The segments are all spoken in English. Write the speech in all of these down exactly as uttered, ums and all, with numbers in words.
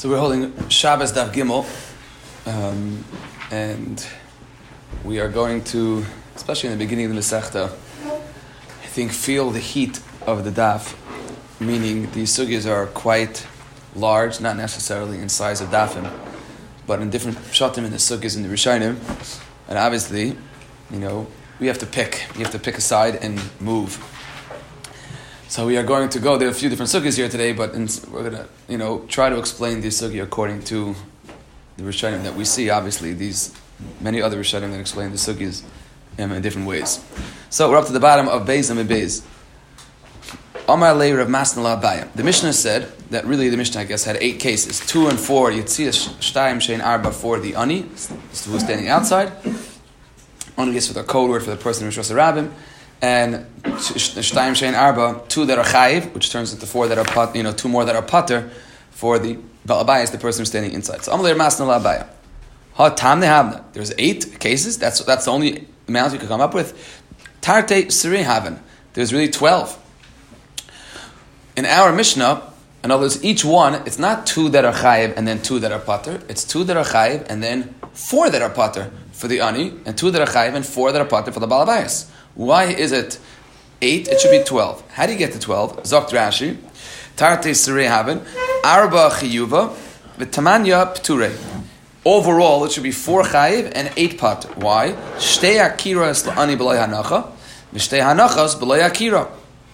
So we're holding Shabbos Daf Gimel, um, and we are going to, especially in the beginning of the Masechta, I think feel the heat of the Daf, meaning these sugyas are quite large, not necessarily in size of Dafim, but in different pshatim in the sugyas in the Rishonim, and obviously, you know, we have to pick. You have to pick a side and move. So we are going to go. There are a few different sugyas here today, but in, we're going to, you know, try to explain this sugya according to the Rishonim that we see. Obviously, these many other Rishonim that explain the sugyas um, in different ways. So we're up to the bottom of Beis and Beis. Amar Lei Rav Masnala Abaya. The Mishnah said that really the Mishnah, I guess, had eight cases. Two and four, Yitzias Shtayim Shein Arba for the Ani, who's standing outside. Ani is for the code word for the person who's Rosh Rabbim. And Shtayim Shein Arba, two that are Chayiv, which turns into four that are pat, you know, two more that are Pater for the Baal Abaya, is the person who's standing inside. So Amar Lei Rav Masnala Abaya. Ha Tam Nehavna. There's eight cases. That's that's the only amount you could come up with. Tarte Siri Haven. There's really twelve. In our Mishnah, in other words, each one, it's not two that are chayiv and then two that are pater. It's two that are chayiv and then four that are pater for the ani, and two that are chayiv and four that are pater for the Baal Abayis. Why is it eight? It should be twelve. How do you get to twelve? Zokt Rashi, Tarte Sirei Haben, Arba Chiyuva, V'Tamanya P'turei. Overall, it should be four chayiv and eight pater. Why? Shtei Akiras L'ani B'loi Hanacha, V'Shtei Hanachas B'loi Akira.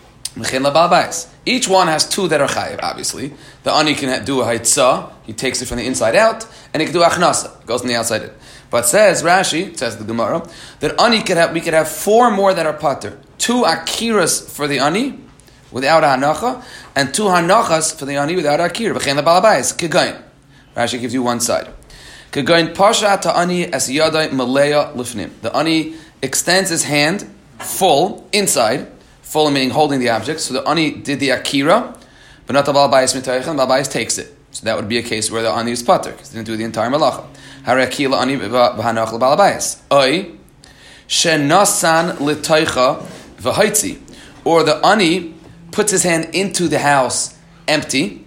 Each one has two that are chayiv, obviously. The ani can do a haitzah, he takes it from the inside out, and he can do achnasa, goes from the outside in. But says Rashi, says the Gemara, that ani could have, we could have four more that are pater. Two akiras for the ani, without a hanacha, and two hanachas for the ani without akira. V'chein lebalabais, kegain. Rashi gives you one side. Kegain pasha ta'ani es yadai maleya lifnim. The ani extends his hand full, inside, full meaning holding the object. So the ani did the akira, but not the Baal Abayis mitayichan. Baal Abayis takes it. So that would be a case where the ani is pater because he didn't do the entire malacha. Harakila ani v'hanach l'Baal Abayis. Oy shenasan l'taycha v'haitzi, or the ani puts his hand into the house empty,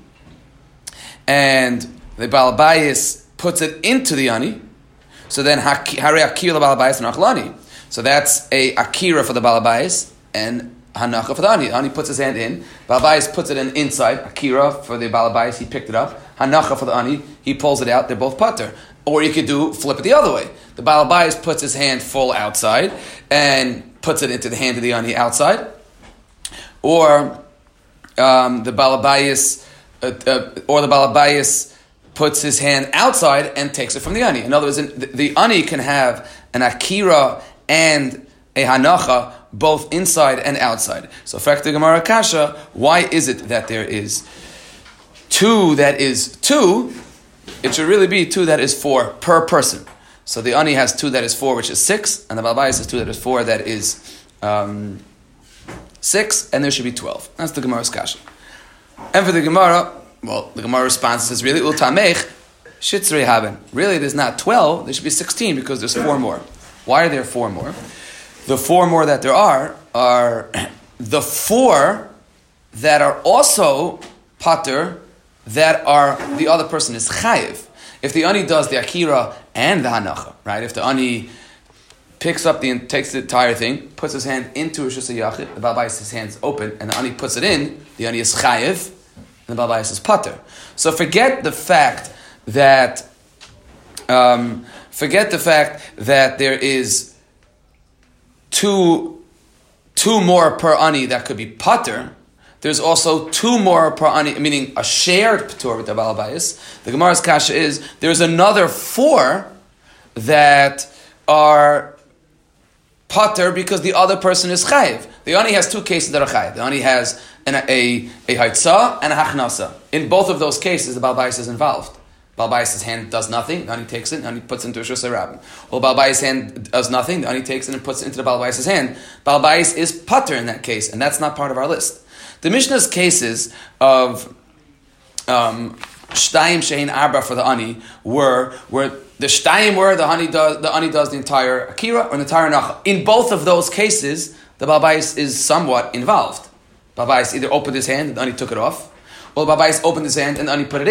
and the Baal Abayis puts it into the ani. So then hare akira l'Baal Abayis v'nachlani. So that's a akira for the Baal Abayis and hanacha for the ani. The ani puts his hand in. Baal Abayis puts it in inside. Akira for the Baal Abayis, he picked it up. Hanacha for the ani, he pulls it out. They're both pater. Or you could do flip it the other way. The Baal Abayis puts his hand full outside and puts it into the hand of the ani outside. Or um, the Baal Abayis, uh, uh, or the Baal Abayis puts his hand outside and takes it from the ani. In other words, the, the ani can have an akira and a hanacha both inside and outside. So, fact the Gemara Kasha, why is it that there is two that is two? It should really be two that is four per person. So the ani has two that is four, which is six, and the Baal Abayis has two that is four, that is um, six, and there should be twelve. That's the Gemara's Kasha. And for the Gemara, well, the Gemara response says, really, ultamech shitzrei haben. Really, there's not twelve, there should be sixteen because there's four more. Why are there four more? The four more that there are are the four that are also pater, that are the other person is chayiv. If the ani does the akira and the hanacha, right? If the ani picks up the takes the entire thing, puts his hand into Rishus HaYachid, the Baal Abayis, his hand's open, and the ani puts it in, the ani is chayiv, and the Baal Abayis is pater. So forget the fact that um, forget the fact that there is Two, two more per ani that could be pater. There's also two more per ani, meaning a shared patur with the Baal Abayis. The Gemara's kasha is there's another four that are pater because the other person is chayiv. The ani has two cases that are chayiv. The ani has an, a a haitzah and a hachnasa. In both of those cases, the Baal Abayis is involved. Baal Abayis' hand does nothing, the ani takes it, and he puts it into Rishus HaRabbim. Well, Baal Abayis' hand does nothing, the ani takes it and puts it into the Baal Abayis' hand. Baal Abayis is pater in that case, and that's not part of our list. The Mishnah's cases of um, Shtayim Shein Arba for the ani were where the Shtayim were the ani does the ani does the entire akira or the entire nacha. In both of those cases, the Baal Abayis is somewhat involved. Baal Abayis either opened his hand and the ani took it off, or Baal Abayis opened his hand and the ani put it in.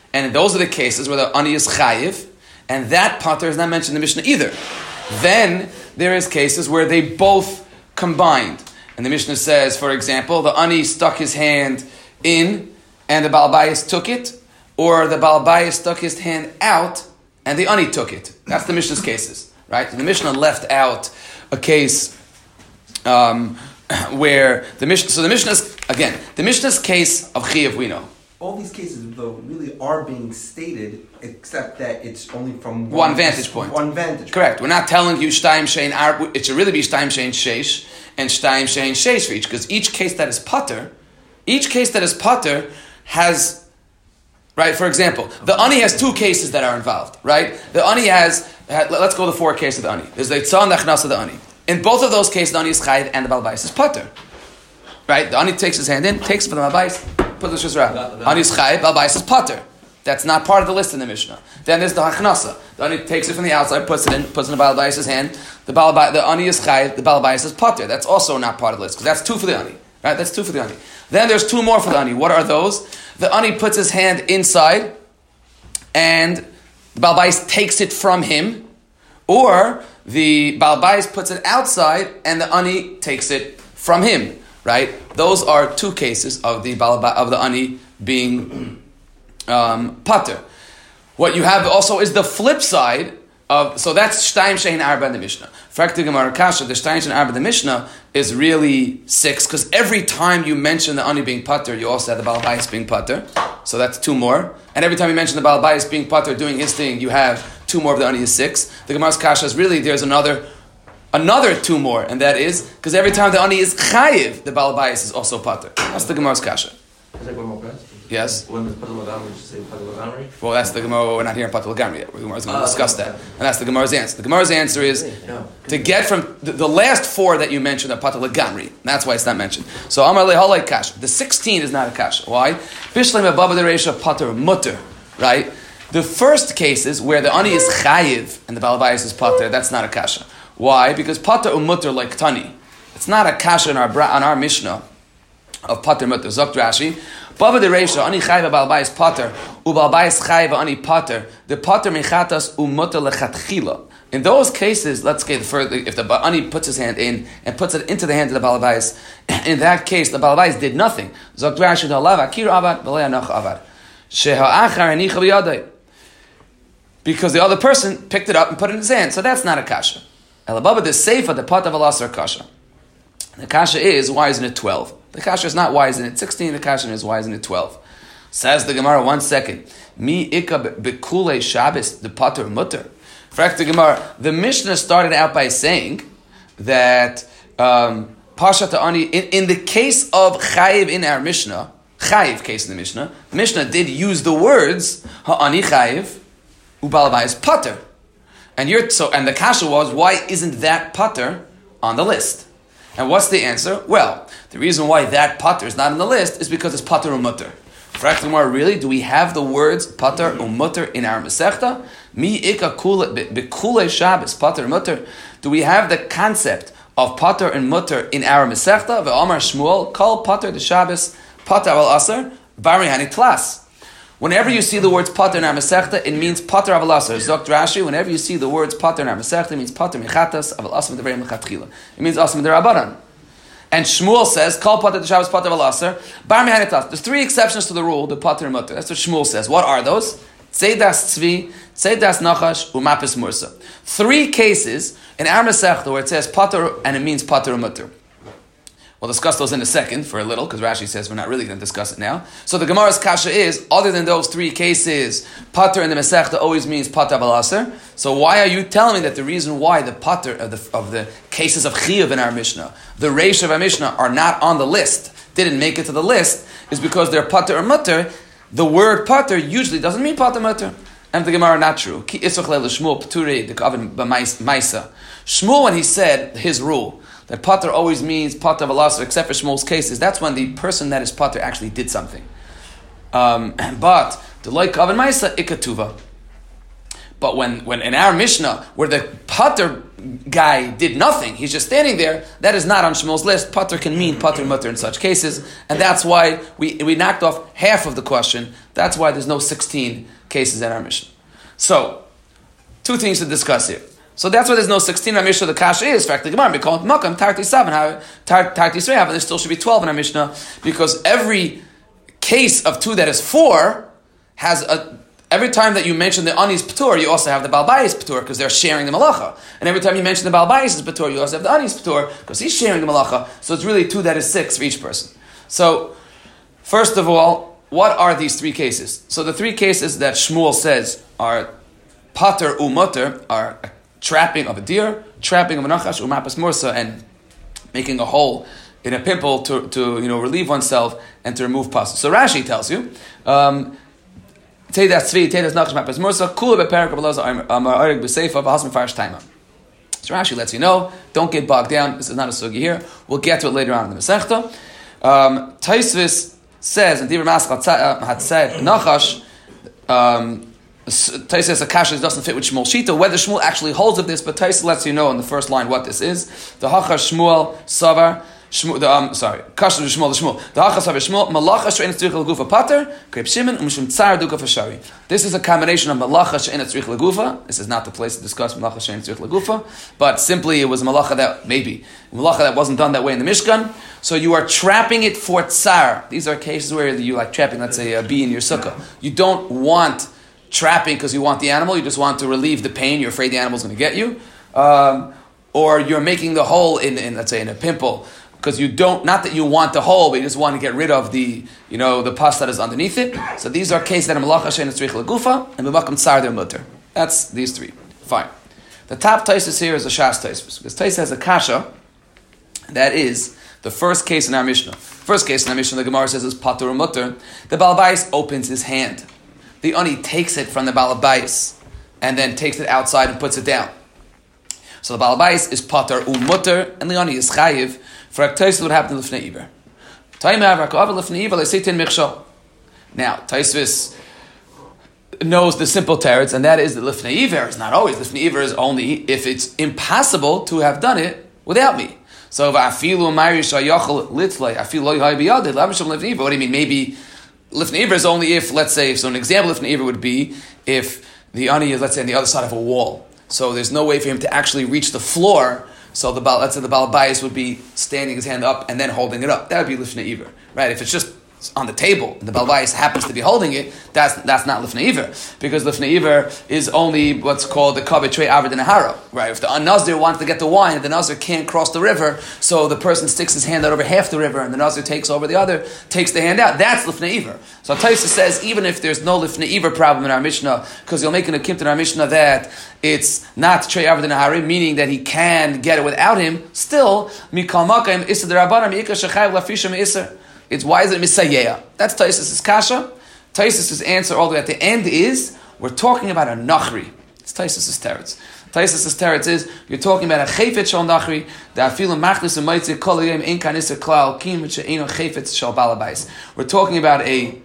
And those are the cases where the ani is chayiv, and that pater is not mentioned in the Mishnah either. Then there is cases where they both combined. And the Mishnah says, for example, the ani stuck his hand in and the Baal Bayis took it, or the Baal Bayis stuck his hand out and the ani took it. That's the Mishnah's cases, right? The Mishnah left out a case um, where the Mishnah, so the Mishnah's, again, the Mishnah's case of Chiyuv we know. All these cases, though, really are being stated, except that it's only from one, one vantage point. One vantage. Correct. We're not telling you Shtayim Shein Ar. It should really be Shtayim Shein Sheish and Shtayim Shein Sheish for each, because each case that is pater, each case that is pater has, right. For example, the ani has two cases that are involved, right? The ani has. Let's go to the four cases of the ani. There's the Itzah and the Achnas of the ani. In both of those cases, the ani is chayiv and the Baal Bayis is pater, right? The ani takes his hand in, takes it from the Baal Bayis. Put the shizra. Ani is chayiv, Baal Bayis is pater. That's not part of the list in the Mishnah. Then there's the Hachnasa. The ani takes it from the outside, puts it in, puts it in the Baal Bayis' hand. The Baal the ani is chayiv, the Baal Bayis is pater. That's also not part of the list because that's two for the ani, right? That's two for the ani. Then there's two more for the ani. What are those? The ani puts his hand inside, and the Baal Bayis takes it from him, or the Baal Bayis puts it outside, and the ani takes it from him. Right? Those are two cases of the of the ani being um, pater. What you have also is the flip side of, so that's Shtayim Shein Arba in the Mishnah. Frakti Gemara Kasha, the Shtayim Shein Arba in the Mishnah is really six, because every time you mention the ani being pater, you also have the Baal Bayis being pater. So that's two more. And every time you mention the Baal Bayis being pater, doing his thing, you have two more of the ani is six. The Gemara's Kasha is really, there's another Another two more, and that is because every time the ani is chayiv, the Baal Bayis is also pater. That's the Gemara's kasha. Yes. Well, that's the Gemara. We're not here in Patel Gamri yet. We're going to discuss that, and that's the Gemara's answer. The Gemara's answer is to get from the, the last four that you mentioned are Patel Gamri. That's why it's not mentioned. So Amar lehalei kasha. The sixteen is not a kasha. Why? Bishleim ababa dereisha pater mutter. Right. The first cases where the ani is chayiv and the Baal Bayis is pater. That's not a kasha. Why? Because pater umutter like tani. It's not a kasha on our on our Mishnah of pater mutter. Zokt Rashi, Baba de Reisha ani chayva Baal Bayis pater u Baal Bayis chayva ani pater. The pater mechatas umutter lechatchila. In those cases, let's get further. If the ani puts his hand in and puts it into the hand of the Baal Bayis, in that case the Baal Bayis did nothing. Zokt Rashi dalav akir avad b'lei anach avad sheha achar anicha b'yadai. Because the other person picked it up and put it in his hand, so that's not a kasha. Elababa the seifa the pat of alasar kasha. The kasha is why isn't it twelve? The kasha is not why isn't it sixteen. The kasha is why isn't it twelve? Says the Gemara. One second. Mi ika bekule Shabbos the pater mutter. Frak the Gemara. The Mishnah started out by saying that um, pashat ani in, in the case of chayiv in our Mishnah, chayiv case in the Mishnah, the Mishnah did use the words ha'ani chayiv u'Baal Bayis pater. And you're so, and the kasha was, why isn't that pater on the list? And what's the answer? Well, the reason why that pater is not on the list is because it's pater umutter. Fraktimar, really, do we have the words pater umutter in our Masechta? Mi ika bekule Shabbos pater umutter. Do we have the concept of pater and mutter in our Masechta? Ve'amar Shmuel kol pater the Shabbos pater al asar bari hani tlas. Whenever you see the words pater in our Masechta, it means pater aval asar. Zokt Rashi, whenever you see the words pater in our Masechta, it means pater mechatas aval asar v'devrei mechatchila. It means asar v'derabanan. And Shmuel says, kol pater the Shabbos pater aval asar, bar mehanitas. There's three exceptions to the rule, the pater and mutter. That's what Shmuel says. What are those? Tzeidas tzvi, tzeidas nachash, umapis mursa. Three cases in our Masechta where it says pater and it means pater and mutter. We'll discuss those in a second for a little, because Rashi says we're not really going to discuss it now. So the Gemara's kasha is, other than those three cases, pater in the Masechta always means pater aval asar. So why are you telling me that the reason why the pater of the, of the cases of chiyuv in our Mishnah, the reish of our Mishnah, are not on the list, didn't make it to the list, is because they're pater or mutter? The word pater usually doesn't mean pater mutter. And the Gemara, not true. Ki isach leil Shmuel p'turei the kaven b'maisa. Shmuel, when he said his rule, that pater always means pater aval asar, except for Shmuel's cases, that's when the person that is pater actually did something. Um, but the like kaven ma'isa ikatuva. But when, when in our Mishnah, where the Pater guy did nothing, he's just standing there, that is not on Shmuel's list. Pater can mean Pater Mutter in such cases, and that's why we, we knocked off half of the question. That's why there's no sixteen cases in our Mishnah. So, two things to discuss here. So that's why there's no sixteen in our Mishnah. The Kasha is, in fact, the Gemara, we call it Makam, Tarti seven, Tarti three, and there still should be twelve in our Mishnah, because every case of two that is four has a every time that you mention the Ani's Patur, you also have the Balbayis Patur, because they're sharing the Malacha. And every time you mention the Balbayis Patur, you also have the Ani's Patur, because he's sharing the Malacha. So it's really two that is six for each person. So, first of all, what are these three cases? So the three cases that Shmuel says are Pater Umutter, are a trapping of a deer, trapping of a Nachash, Umapas Mursa, and making a hole in a pimple to, to you know, relieve oneself and to remove pus. So Rashi tells you, um, Teidas Tzvi, Teidas Nachash Mapas Mursa, Kula Beperak Abelaza Amar Arig B'Seifa V'Hasm Farish Taima. So Rashi lets you know, don't get bogged down. This is not a sugi here. We'll get to it later on in the Masechta. Um, Taisvis says, and Dibur Maschal had said, Nachash, um, Taisvis says Akasha doesn't fit with Shmuel Shita. Whether Shmuel actually holds of this, but Taisvis lets you know in the first line what this is. The Hachash Shmuel Savar. Shmuel, the, um, sorry, Kasher Shmuel, the Shmuel. The Hachas Haver Shmuel, Malacha She'en Tzrich L'Gufa Pater, Kreb Shimon, Umshum Tzar Duka Fashari. This is a combination of Malacha She'en Tzrich L'Gufa. This is not the place to discuss Malacha She'en Tzrich L'Gufa, but simply it was a Malacha that, maybe, Malacha that wasn't done that way in the Mishkan. So you are trapping it for Tzar. These are cases where you like trapping, let's say, a bee in your sukkah. You don't want trapping because you want the animal, you just want to relieve the pain, you're afraid the animal's going to get you. Um, or you're making the hole in, in, let's say, in a pimple, because you don't, not that you want the hole, but you just want to get rid of the, you know, the pus that is underneath it. So these are cases that are Malacha She'en Tzrich L'Gufa and B'Makam Tzar their mutter. That's these three. Fine. The top Taisus here is the Shas Taisus, because Taisus has a kasha, that is the first case in our Mishnah. First case in our Mishnah, the Gemara says is Patur Mutter. The Balabais opens his hand. The Ani takes it from the Balabais and then takes it outside and puts it down. So the Balabais is Patur Umutter and the Ani is Chayiv. For Taisus would happen to Lifnei Iver. Now, Taisus knows the simple teretz, and that is that Lifnei Iver is not always. Lifnei Iver is only if it's impossible to have done it without me. So, what do you mean? Maybe Lifnei Iver is only if, let's say, so an example of Lifnei Iver would be if the ani is, let's say, on the other side of a wall. So there's no way for him to actually reach the floor. So the let's say the Balabais would be standing his hand up and then holding it up. That would be Lifnei Iver, right? If it's just on the table and the Balabais happens to be holding it, that's that's not Lifnei Iver, because Lifnei Iver is only what's called the Kabeh Trei Avid and Hara, right? If the Nazir wants to get the wine, the Nazir can't cross the river, so the person sticks his hand out over half the river and the Nazir takes over the other, takes the hand out. That's Lifnei Iver. So Taisa says even if there's no Lifnei Iver problem in our Mishnah, because you'll make an akimta in our Mishnah that it's not Trei Avid and Hara, meaning that he can get it without him, still Mikal Makayim Issa D'Rabbanan Mi'ikar Shechayev Lafisha Me'isser. It's why is it Misayeya? That's Taisus' kasha. Taisus' answer all the way at the end is, we're talking about a nachri. It's Taisus' teretz. Taisus' teretz is, you're talking about a chayfet shal nachri, that afilu machlis u'maitzi kol yom ein kanisser klal kim she'eino chayfet shal balabais. We're talking about a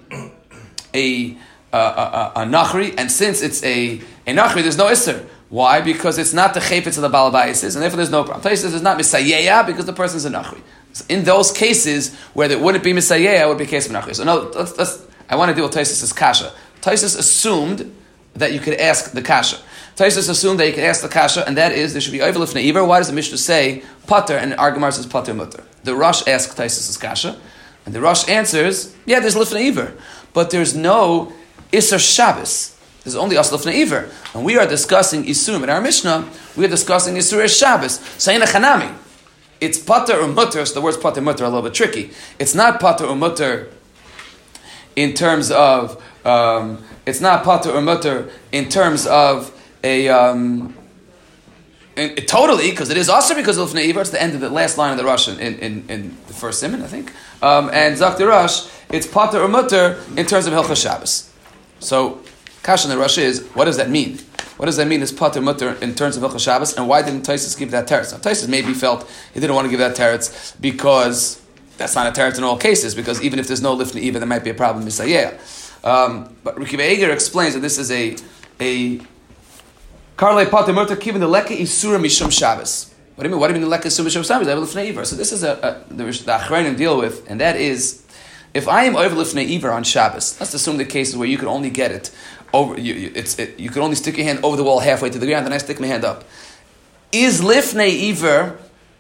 a a, a, a nachri, and since it's a, a nachri, there's no isser. Why? Because it's not the chayfet of the balabais, and therefore there's no problem. Taisus is not Misayeya because the person's a nachri. In those cases where it wouldn't be Misayeh, it would be a case of Menachri. So no, let's, let's, I want to deal with Taisus' kasha. Taisus assumed that you could ask the kasha. Taisus assumed that you could ask the kasha, and that is there should be Ovel Lifnei Iver. Why does the Mishnah say Pater and our Gemara says Pater Mutter? The Rosh asks Taisus' kasha, and the Rosh answers, yeah, there's Lifnei Iver, but there's no Isser Shabbos. There's only As Lifnei Iver. When we are discussing Isum in our Mishnah, we are discussing Isur Shabbos. Sayina Chanami. It's pater or mutter, so the words pater mutter are a little bit tricky. It's not pater or mutter in terms of, um, it's not pater or mutter in terms of a, um, in, it, totally, because it is also because of Lifnei Iver. It's the end of the last line of the Rush in, in, in the first Siman, I think. Um, and Zak the Rush, it's pater or mutter in terms of Hilchas Shabbos. So, Kash in the Rush is, what does that mean? What does that mean? Is pater mutter in terms of Hilchas Shabbos, and why didn't Taisus give that teretz? Now, Taisus maybe felt he didn't want to give that teretz because that's not a teretz in all cases. Because even if there's no Lifnei Iver, there might be a problem Misayeh. Um, but Rikiva Eger explains that this is a a Karle Pater Murta Kivin the Leka Isura Mishum Shabbos. What do you mean? What do you mean the Leka Isura Mishum Shabbos? I have Lifnei Iver. So this is a, a the, the Achronim deal with, and that is, if I am over Lifnei Iver on Shabbos, let's assume the cases where you can only get it over, you, you, it's, it, you can only stick your hand over the wall halfway to the ground, and I stick my hand up. Is Lifnei Iver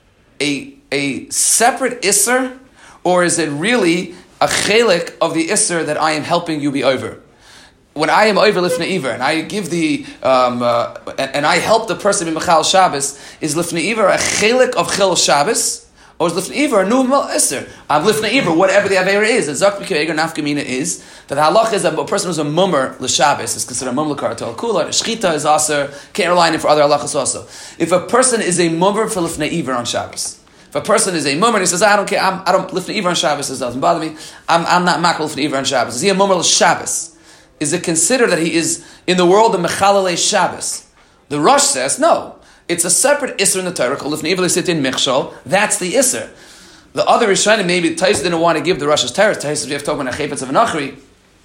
a, a separate Isser, or is it really a chelik of the Isser that I am helping you be over? When I am over Lifnei Iver, and I give the, um, uh, and, and I help the person in Mechal Shabbos, is Lifnei Iver a chelik of Chil Shabbos? Or is Lifnei Iver a new Isser? Um, Lifnei Iver, whatever the Avera is, the Zak B'Kei Eger Nafkamina is, that the halach is that a person who's a mummer l'Shabbos is considered a mummer l'Karatel Kula, Shchita is also, can't rely on it for other halachas also. If a person is a mummer for Lifnei Iver on Shabbos, if a person is a mummer and he says, I don't care, I'm, I don't, Lifnei Iver on Shabbos, this doesn't bother me, I'm, I'm not makal Lifnei Iver on Shabbos. Is he a mummer l'Shabbos? Is it considered that he is in the world of Mechalelei Shabbos? The Rosh says, no. It's a separate Isser in the Torah called Lifnei Iver L'Sitin Michshol. That's the Isser. The other Rishonim, maybe Tais didn't want to give the Rosh's Torah. Tais, if you have talking about a Chaypetz of an Achri,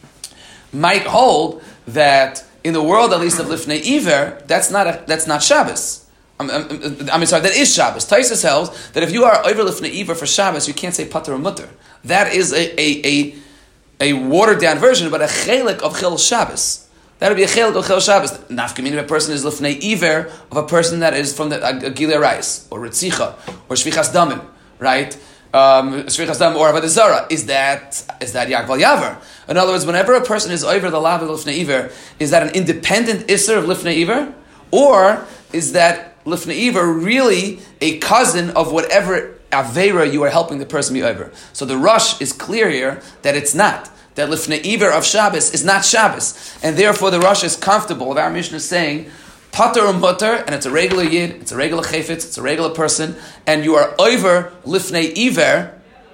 might hold that in the world at least of Lifnei Iver, that's not a, that's not Shabbos. I'm, I'm, I'm sorry, that is Shabbos. Tais tells that if you are over Lifnei Iver for Shabbos, you can't say Pater or Mutter. That is a a a, a watered down version, but a chelik of Chil Shabbos. That would be a chelik of Chil Shabbos. Nafkamina, if a person is Lifnei Iver of a person that is from the Gilei Rais or Ritzicha or Shvichas Damim, right? Um, Shvichas Damim or Avodah Zarah. Is that is that Yakval Yaver? In other words, whenever a person is over the lav of Lifnei Iver, is that an independent Isser of Lifnei Iver, or is that Lifnei Iver really a cousin of whatever Aveira you are helping the person be over? So the Rosh is clear here that it's not. That Lifnei Iver of Shabbos is not Shabbos. And therefore the Rosh is comfortable of our Mishnah saying, Pater or Mutter, and it's a regular Yid, it's a regular Chayfetz, it's a regular person, and you are over Lifnei Iver,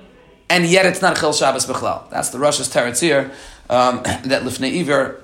and yet it's not Chil Shabbos B'chlal. That's the Rosh's teretz here, um, that Lifnei Iver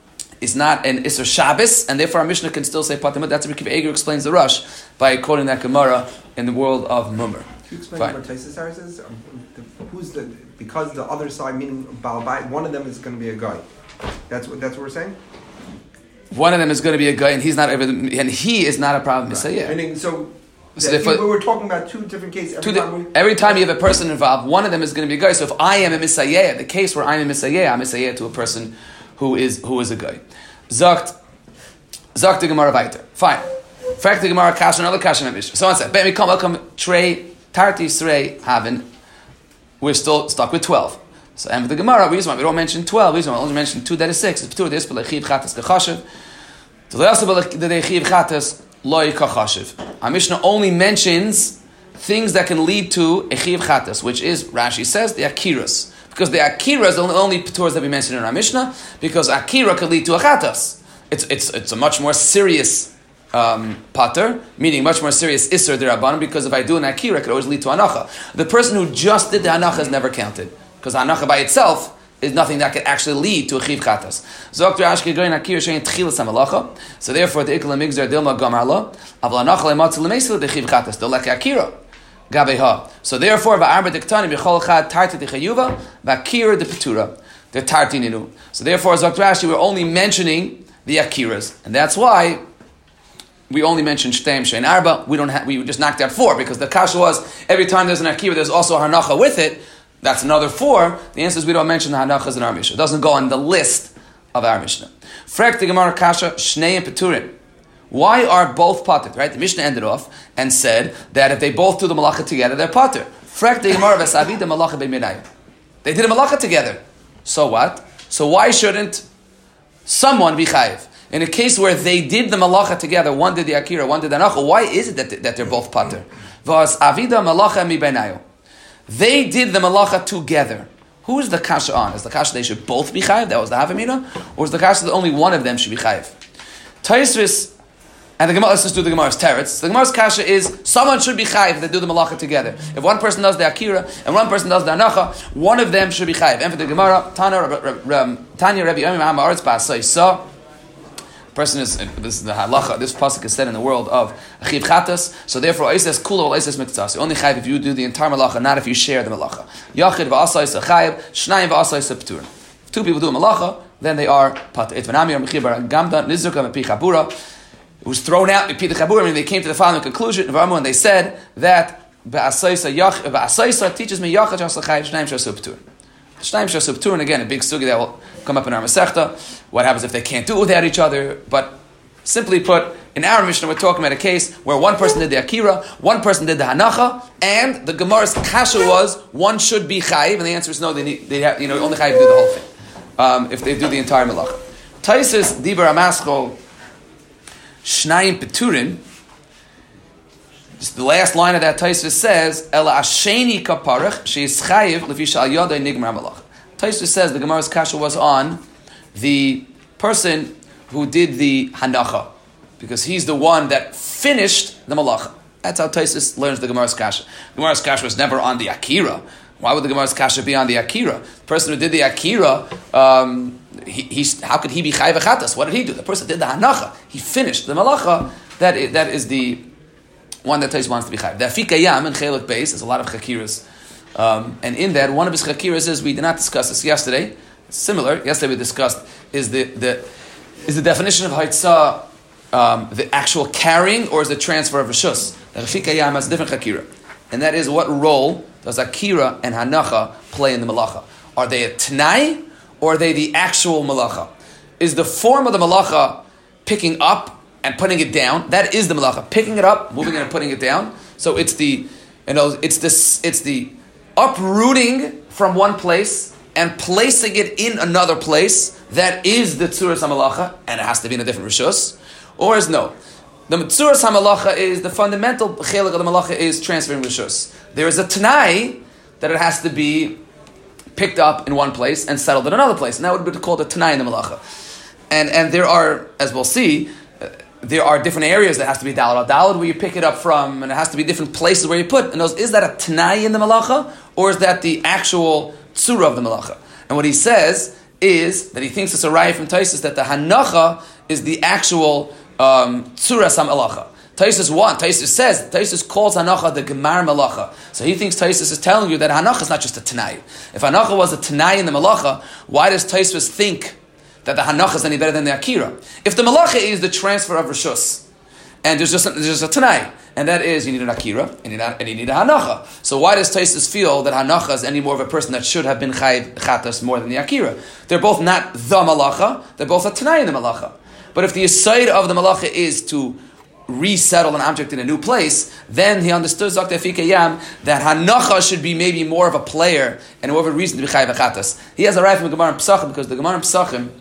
is not an Isser Shabbos, and therefore our Mishnah can still say Pater Mutter. That's what Rav Akiva Eiger explains the Rosh by quoting that Gemara in the world of Mummer. Can you explain what Taisus says? Who's the, because the other side, meaning Baal Bayit, one of them is going to be a guy. That's what that's what we're saying? One of them is going to be a guy, and he's not over, and he is not a problem. Right. Yeah. Meaning, so, so that, we were talking about two different cases. Every, two time, di- every time you have a person involved, one of them is going to be a guy. So if I am a Misayeh, the case where I'm a Misayeh, I'm a Misayeh to a person who is who is a guy. Zakt, Zakt the Gemara weiter. Fine. Fact the Gemara Kash another Kash in Mishnah. So on said, we come welcome Trey Tarti Srei Haven. We're still stuck with twelve. So and with the Gemara, we just want we don't mention twelve. We just want we only mention two. That is six. It's two. This but lechiv chatas kachashiv. So the also but the lechiv chatas loy kachashiv. Our Mishnah only mentions things that can lead to a chiv chatas, which is Rashi says the akiras, because the akiras are the only paturas that we mentioned in our Mishnah, because akira could lead to a chatas. It's it's it's a much more serious um, pater, meaning much more serious isser derabanan, because if I do an akira, it could always lead to anacha. The person who just did the anacha is never counted, because anacha by itself is nothing that could actually lead to a chiv chatas. So therefore, the ikla migzar dilma gamarla avla anacha lematzel lemesil the chiv chatas dolek akira gabeha. So therefore, va'arba diktani b'chol chad tarti dechayuva va'akira de petura the tarti ninu. So therefore, as Doctor Rashi, we're only mentioning the akiras, and that's why we only mentioned Shteim Shein Arba. We don't have, we just knocked out four, because the kasha was every time there's an akira, there's also a hanacha with it. That's another four. The answer is we don't mention the hanachas in our Mishnah. It doesn't go on the list of our Mishnah. Frek the Gemara kasha Shnei and Peturin. Why are both pater? Right? The Mishnah ended off and said that if they both do the malacha together, they're pater. Frek the Gemara v'savi the malacha b'minayim. They did a malacha together. So what? So why shouldn't someone be chayiv? In a case where they did the malacha together, one did the akira, one did the anacha, why is it that, that they're both pater? V'as avida malacha mi beinayu. They did the malacha together. Who is the kasha on? Is the kasha they should both be chayiv? That was the havamina, or is the kasha that only one of them should be chayiv? Taisvis, and the Gemara. Let's just do the Gemara's teretz. The Gemara's kasha is someone should be chayiv if they do the malacha together. If one person does the akira and one person does the anacha, one of them should be chayiv. And for the Gemara, Tanya Rabbi Yomim Ha'aretz Ba'asai Sa. Person is, this is the halacha, this pasuk is said in the world of achiv chatas, so therefore Eises kula or Eises miktas. You only chayiv if you do the entire malacha, not if you share the malacha. Yachid v'asais chayiv, shnayim v'asais p'tur. If two people do a malacha, then they are pater. Et v'nami or mechibar gamda nizruka mepi chabura. it was thrown out. I mean, they came to the following conclusion, and they said that Ba'asaisa teaches me Yachad Shas L'Chayiv Shnaim Shas P'tur. Shnaim Shas P'tur, and again, a big sugi that will come up in our Masechta. What happens if they can't do it without each other? But simply put, in our Mishnah, we're talking about a case where one person did the Akira, one person did the Hanacha, and the Gemara's kasha was one should be Chayiv, and the answer is no. They need, they have, you know, only Chayiv do the whole thing um, if they do the entire Malacha. Taisus Dibar Amaschol Shnaim P'turin. The last line of that Taisus says, "Ela Asheni Kaparach Sheis Chayiv Lefi Shal Yodai Nigmar Malacha." Taisus says the Gemara's kasha was on the person who did the Hanacha, because he's the one that finished the Malacha. That's how Taisus learns the Gemara's kasha. The Gemara's kasha was never on the Akira. Why would the Gemara's kasha be on the Akira? The person who did the Akira, um, he, he's, how could he be Chayiv Achatas? What did he do? The person did the Hanacha. He finished the Malacha. That is, that is the one that Taisus wants to be Chayiv. The Afikayam in Chelik Beis, there's a lot of Chakiras. Um, and in that, one of his Chakiras is, we did not discuss this yesterday, it's similar, yesterday we discussed, is the, the is the definition of Haitzah um, the actual carrying, or is the transfer of Rishus? The Afikayam has a different Chakira. And that is, what role does Akira and Hanacha play in the Malacha? Are they a Tanai, or are they the actual Malacha? Is the form of the Malacha picking up and putting it down? That is the Malacha. Picking it up, moving it and putting it down. So it's the, you know, it's this, it's the uprooting from one place and placing it in another place. That is the Tzuras HaMalacha, and it has to be in a different Rishus. Or is no. The Tzuras HaMalacha is, the fundamental chelik of the Malacha is transferring Rishus. There is a Tanai that it has to be picked up in one place and settled in another place. And that would be called a Tanai in the Malacha. And and there are, as we'll see, uh, there are different areas that has to be Dalad al Dalad where you pick it up from, and it has to be different places where you put. And those, is that a Tanai in the Malacha, or is that the actual Tzura of the Malacha? And what he says is that he thinks it's a raya from Taisus that the Hanacha is the actual um, Tzuras HaMalacha. Taisus one, Taisus says, Taisus calls Hanacha the Gemar Malacha. So he thinks Taisus is telling you that Hanacha is not just a Tanai. If Hanacha was a Tanai in the Malacha, why does Taisus think that the Hanacha is any better than the Akira? If the Malacha is the transfer of Rishus, and there's just a, there's just a Tanai, and that is, you need an Akira, and you need a, and you need a Hanacha. So why does Taisus feel that Hanacha is any more of a person that should have been Chayiv Chatas more than the Akira? They're both not the Malacha, they're both a Tanai in the Malacha. But if the aside of the Malacha is to resettle an object in a new place, then he understood Zakta Fikayam that Hanacha should be maybe more of a player and more of a reason to be Chayiv Chatas. He has a right from the Gemara in Pesachim, because the Gemara in Pesachim,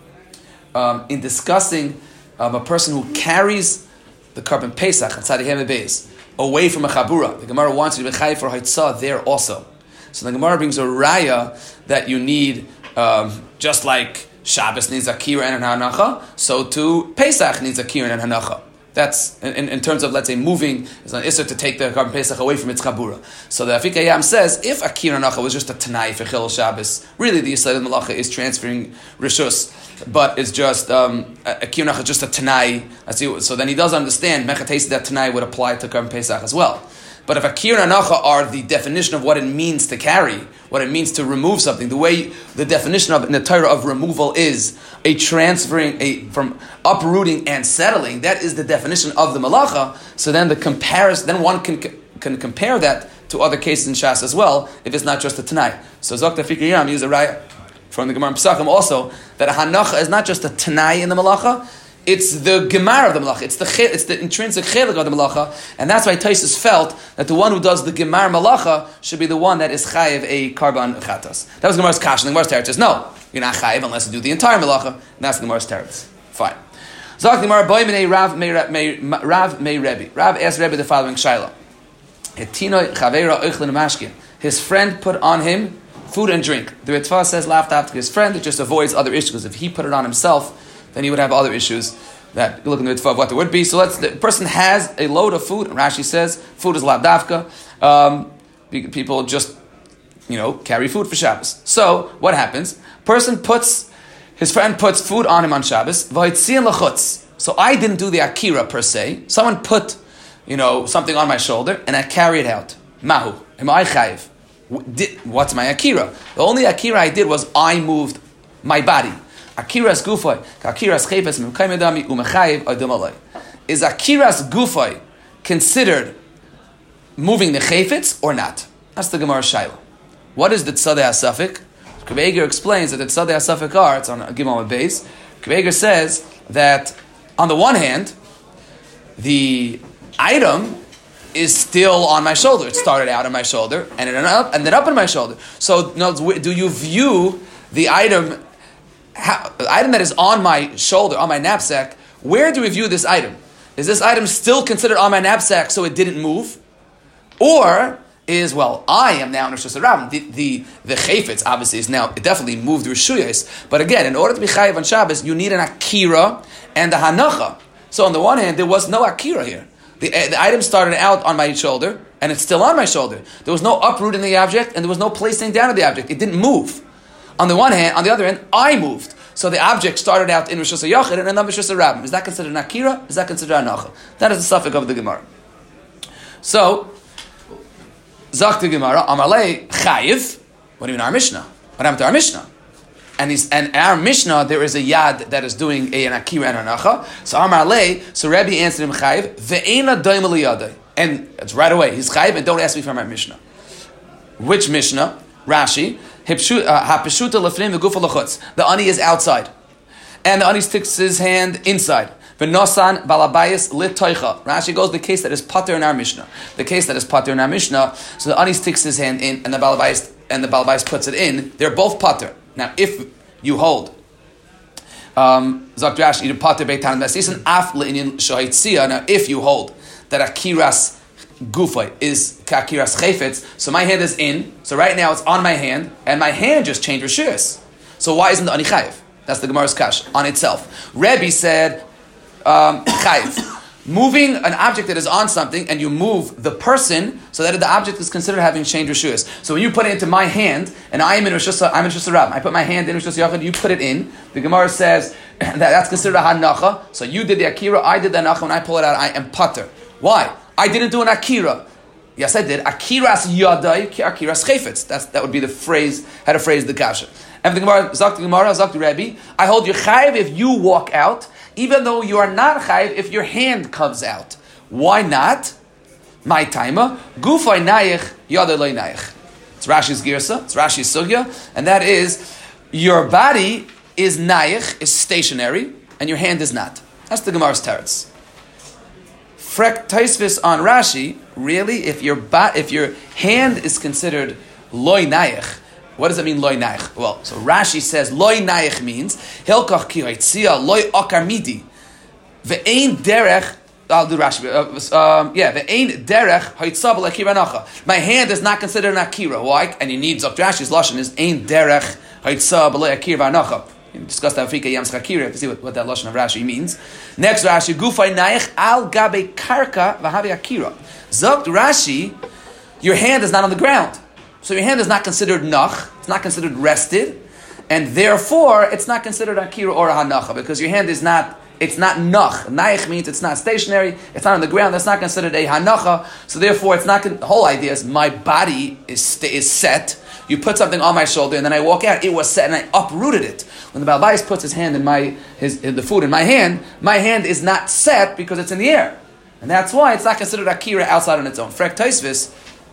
um, in discussing um, a person who carries the carbon Pesach and Tzaddik Beis away from a Chabura, the Gemara wants you to be Chayiv for Haitzah there also. So the Gemara brings a raya that you need, um, just like Shabbos needs Akira and Hanacha, so too Pesach needs Akira and Hanacha. That's in, in terms of, let's say, moving. It's an issur to take the carbon Pesach away from its Chabura. So the Afikayam says, if Akira Hanacha was just a Tanai for Chil Shabbos, really the Yisrael Malacha is transferring Rishus, but it's just um, Akira Hanacha just a Tanai. So then he does understand Mechatesi that Tanai would apply to carbon Pesach as well. But if Akira and Hanacha are the definition of what it means to carry, what it means to remove something, the way the definition of in the Torah of removal is a transferring, a from uprooting and settling, that is the definition of the Malacha. So then the comparison, then one can can compare that to other cases in Shas as well, if it's not just a Tanai. So Zokta Fikiriyam uses a raya from the Gemara in Pesachim also, that a Hanacha is not just a Tanai in the Malacha, it's the Gemara of the Malacha. It's the it's the intrinsic chelik of the Malacha, and that's why Taisus felt that the one who does the Gemara Malacha should be the one that is chayiv a karban chatas. That was Gemara's kash, and the Gemara's teretz says no, you're not chayiv unless you do the entire Malacha. And that's the Gemara's teretz. Fine. Zak Gemara boy minei Rav may Rav may Rebbe. Rav asked Rebbe the following shaila: Hetino chavera oichlin mashkin. His friend put on him food and drink. The Ritva says laughed after his friend. It just avoids other issues, because if he put it on himself, then he would have other issues that look in the mitzvah of what there would be. So let's, the person has a load of food, and Rashi says food is lavdavka. Um, people just, you know, carry food for Shabbos. So what happens? Person puts, his friend puts food on him on Shabbos. So I didn't do the akira per se. Someone put, you know, something on my shoulder, and I carry it out. Mahu, am I chayiv? What's my akira? The only akira I did was I moved my body. Akiras gufay, akiras chayves memkaymedami umechayiv adum alay. is akiras gufay considered moving the chayfetz or not? That's the Gemara Shaila. What is the tzadei hasafik? Kveger explains that the tzadei hasafik are, it's on Gimel base. Kveger says that on the one hand, the item is still on my shoulder. It started out on my shoulder and it ended up, ended up on my shoulder. So, no, do you view the item, how, the item that is on my shoulder, on my knapsack? Where do we view this item? Is this item still considered on my knapsack so it didn't move, or is, well, I am now in Rosh Hashanah. The the the chayfetz obviously is now, it definitely moved Rishuyas. But again, in order to be chayiv on Shabbos, you need an akira and a hanacha. So on the one hand, there was no akira here. The, uh, the item started out on my shoulder, and it's still on my shoulder. There was no uprooting the object, and there was no placing down of the object. It didn't move. On the one hand, on the other hand, I moved. So the object started out in Rosh Hashanah and ended up in Rosh Hashanah. Is that considered an akira? Is that considered a hanacha? That is the suffix of the Gemara. So, Zak the Gemara, Amalei Chayiv. What do you mean our Mishnah? What happened to our Mishnah? And he's, and our Mishnah, there is a yad that is doing a, an akira and a hanacha. So Amalei, so Rebbe answered him Chayiv, Ve'ena doim liyadei. And it's right away. He's Chayiv, and don't ask me for my Mishnah. Which Mishnah? Rashi. Hapeshuta lefnim v'gufa lechutz. The ani is outside, and the ani sticks his hand inside. V'nosan balabayis litoicha. Rashi goes the case that is pater in our Mishnah. The case that is pater in our Mishnah. So the ani sticks his hand in, and the balabayis and the balabayis puts it in. They're both pater. Now, if you hold, um, Zak Rashi, you pater beitan mesisin af leinin shahitzia. Now, if you hold that akiras Gufay is kakiras chayfetz, so my hand is in, so right now it's on my hand, and my hand just changed rishus. So why isn't the ani chayiv? That's the Gemara's kash on itself. Rebbe said, um, chayiv. Moving an object that is on something, and you move the person, so that the object is considered having changed rishus. So when you put it into my hand, and I am in rishus, I'm in rishus rab, I put my hand in rishus yachid, you put it in, the Gemara says that that's considered a hanacha, so you did the akira, I did the hanacha, when I pull it out, I am pater. Why? I didn't do an akira. Yes, I did. Akiras yadai, akiras chayfetz. That's that would be the phrase. How to phrase the kasha. And the Gemara, Zak the Gemara, Zak the Rebbe. I hold you chayiv if you walk out, even though you are not chayiv if your hand comes out. Why not? My timer. Gufay nayich yadai loy nayich. It's Rashi's girsa. It's Rashi's sugya, and that is your body is nayich, is stationary, and your hand is not. That's the Gemara's teretz. Frek Taisvis on Rashi, really, if your ba- if your hand is considered loy nayich, what does it mean loy nayich? Well, so Rashi says loy nayich means hilkach ki haitzia loy akar midi ve'ein derech. I'll do Rashi. Uh, um, yeah, ve'ein derech haitzah b'lakira nacha. My hand is not considered an akira. Why? And you need Zok Rashi's lashon is ein derech haitzah b'lakira nacha. We discussed that Afrika Yam Schakira to see what, what that lashon of Rashi means. Next Rashi, Gufay Naich al gabe karka v'havi akira. Zokt Rashi, your hand is not on the ground, so your hand is not considered nach. It's not considered rested, and therefore it's not considered akira or a hanacha because your hand is not. It's not nach. Naich means it's not stationary. It's not on the ground. That's not considered a hanacha. So therefore, it's not. The whole idea is my body is is set. You put something on my shoulder, and then I walk out. It was set, and I uprooted it. When the Baal Bayis puts his hand in my his in the food in my hand, my hand is not set because it's in the air, and that's why it's not considered akira outside on its own. Frek Taisvis.